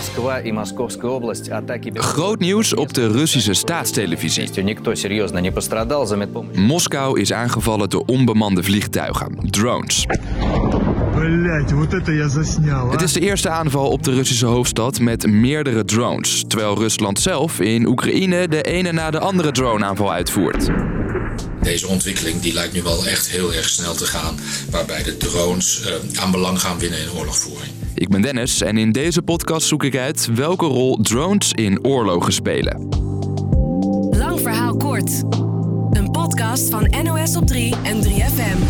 Москва и Московская область атаки... Groot nieuws op de Russische staatstelevisie. Никто серьезно не пострадал за медпомощь. Moskou is aangevallen door onbemande vliegtuigen, drones. Het is de eerste aanval op de Russische hoofdstad met meerdere drones, terwijl Rusland zelf in Oekraïne de ene na de andere droneaanval uitvoert. Deze ontwikkeling die lijkt nu wel echt heel erg snel te gaan, waarbij de drones aan belang gaan winnen in oorlogvoering. Ik ben Dennis en in deze podcast zoek ik uit welke rol drones in oorlogen spelen. Lang verhaal kort. Een podcast van NOS op 3 en 3FM.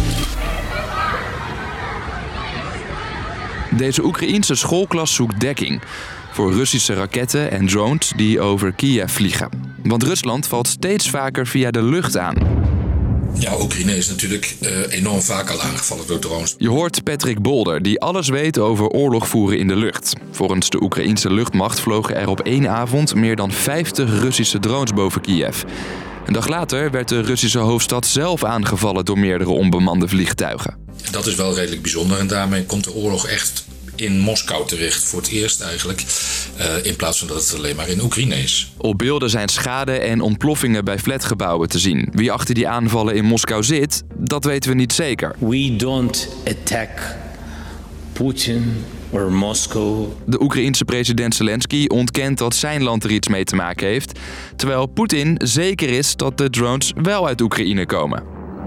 Deze Oekraïense schoolklas zoekt dekking voor Russische raketten en drones die over Kiev vliegen. Want Rusland valt steeds vaker via de lucht aan. Ja, Oekraïne is natuurlijk enorm vaak al aangevallen door drones. Je hoort Patrick Bolder, die alles weet over oorlog voeren in de lucht. Volgens de Oekraïense luchtmacht vlogen er op één avond meer dan 50 Russische drones boven Kiev. Een dag later werd de Russische hoofdstad zelf aangevallen door meerdere onbemande vliegtuigen. Dat is wel redelijk bijzonder en daarmee komt de oorlog echt in Moskou terecht. Voor het eerst eigenlijk, in plaats van dat het alleen maar in Oekraïne is. Op beelden zijn schade en ontploffingen bij flatgebouwen te zien. Wie achter die aanvallen in Moskou zit, dat weten we niet zeker. We don't attack Putin or Moscow. De Oekraïense president Zelensky ontkent dat zijn land er iets mee te maken heeft, terwijl Poetin zeker is dat de drones wel uit Oekraïne komen.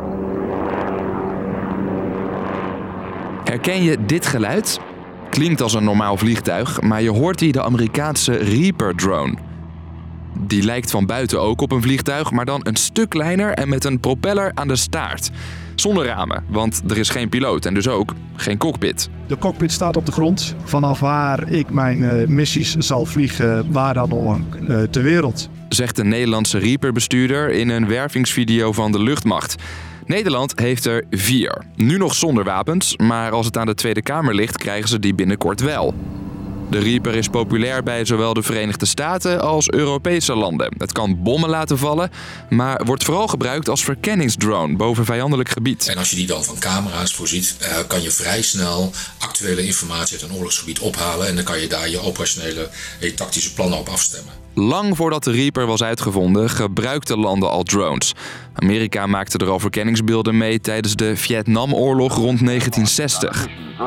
Herken je dit geluid? Klinkt als een normaal vliegtuig, maar je hoort hier de Amerikaanse Reaper-drone. Die lijkt van buiten ook op een vliegtuig, maar dan een stuk kleiner en met een propeller aan de staart. Zonder ramen, want er is geen piloot en dus ook geen cockpit. De cockpit staat op de grond, vanaf waar ik mijn missies zal vliegen, waar dan ook ter wereld. Zegt de Nederlandse Reaper-bestuurder in een wervingsvideo van de luchtmacht. Nederland heeft er 4. Nu nog zonder wapens, maar als het aan de Tweede Kamer ligt, krijgen ze die binnenkort wel. De Reaper is populair bij zowel de Verenigde Staten als Europese landen. Het kan bommen laten vallen, maar wordt vooral gebruikt als verkenningsdrone boven vijandelijk gebied. En als je die dan van camera's voorziet, kan je vrij snel actuele informatie uit een oorlogsgebied ophalen en dan kan je daar je operationele en tactische plannen op afstemmen. Lang voordat de Reaper was uitgevonden, gebruikten landen al drones. Amerika maakte er al verkenningsbeelden mee tijdens de Vietnamoorlog rond 1960.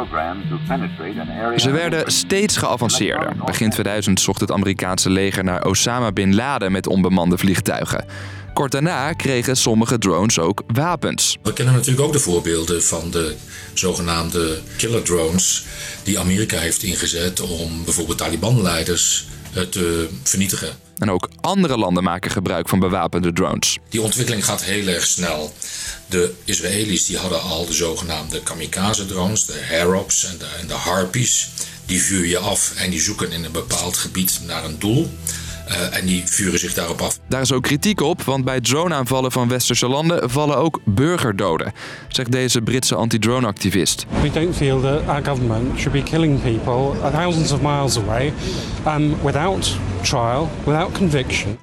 Ze werden steeds geavanceerder. Begin 2000 zocht het Amerikaanse leger naar Osama Bin Laden met onbemande vliegtuigen. Kort daarna kregen sommige drones ook wapens. We kennen natuurlijk ook de voorbeelden van de zogenaamde killer drones die Amerika heeft ingezet om bijvoorbeeld Taliban-leiders te vernietigen. En ook andere landen maken gebruik van bewapende drones. Die ontwikkeling gaat heel erg snel. De Israëli's die hadden al de zogenaamde kamikaze-drones, de Harrops en de Harpies. Die vuur je af en die zoeken in een bepaald gebied naar een doel. En die vuren zich daarop af. Daar is ook kritiek op, want bij droneaanvallen van westerse landen vallen ook burgerdoden, zegt deze Britse anti-drone-activist. We don't feel that our government should be killing people thousands of miles away without trial, without conviction.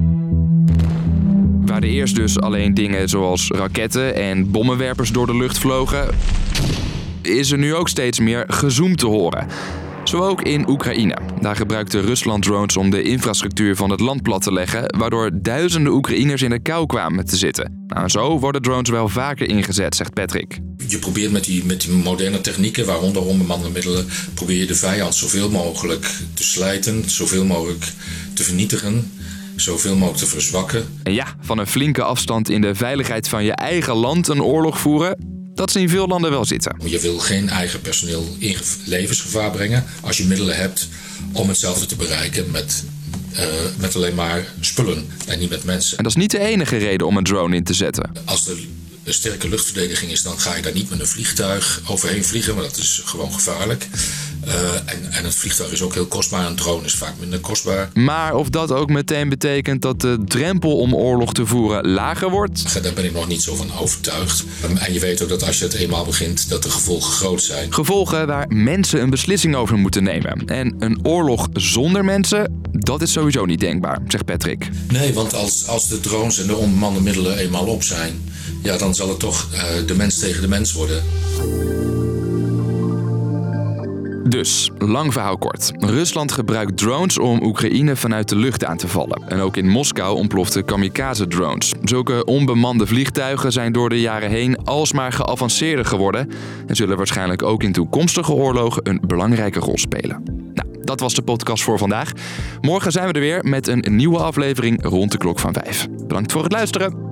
Waar er eerst dus alleen dingen zoals raketten en bommenwerpers door de lucht vlogen, is er nu ook steeds meer gezoem te horen. Zo ook in Oekraïne. Daar gebruikte Rusland drones om de infrastructuur van het land plat te leggen, waardoor duizenden Oekraïners in de kou kwamen te zitten. Nou, zo worden drones wel vaker ingezet, zegt Patrick. Je probeert met die moderne technieken, waaronder onbemande middelen, probeer je de vijand zoveel mogelijk te slijten, zoveel mogelijk te vernietigen, zoveel mogelijk te verzwakken. En ja, van een flinke afstand in de veiligheid van je eigen land een oorlog voeren, dat zien veel landen wel zitten. Je wil geen eigen personeel in levensgevaar brengen als je middelen hebt om hetzelfde te bereiken met alleen maar spullen en niet met mensen. En dat is niet de enige reden om een drone in te zetten. Als er een sterke luchtverdediging is, dan ga je daar niet met een vliegtuig overheen vliegen, maar dat is gewoon gevaarlijk. En het vliegtuig is ook heel kostbaar, een drone is vaak minder kostbaar. Maar of dat ook meteen betekent dat de drempel om oorlog te voeren lager wordt? Daar ben ik nog niet zo van overtuigd. En je weet ook dat als je het eenmaal begint, dat de gevolgen groot zijn. Gevolgen waar mensen een beslissing over moeten nemen. En een oorlog zonder mensen, dat is sowieso niet denkbaar, zegt Patrick. Nee, want als de drones en de onbemande middelen eenmaal op zijn, ja, dan zal het toch de mens tegen de mens worden. Dus, lang verhaal kort. Rusland gebruikt drones om Oekraïne vanuit de lucht aan te vallen. En ook in Moskou ontploften kamikaze-drones. Zulke onbemande vliegtuigen zijn door de jaren heen alsmaar geavanceerder geworden en zullen waarschijnlijk ook in toekomstige oorlogen een belangrijke rol spelen. Nou, dat was de podcast voor vandaag. Morgen zijn we er weer met een nieuwe aflevering rond de klok van 5. Bedankt voor het luisteren.